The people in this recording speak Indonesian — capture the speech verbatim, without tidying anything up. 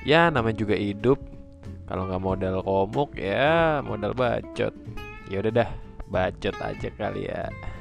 Ya namanya juga hidup. Kalau nggak modal komuk ya modal bacot. Ya udah dah, bacot aja kali ya.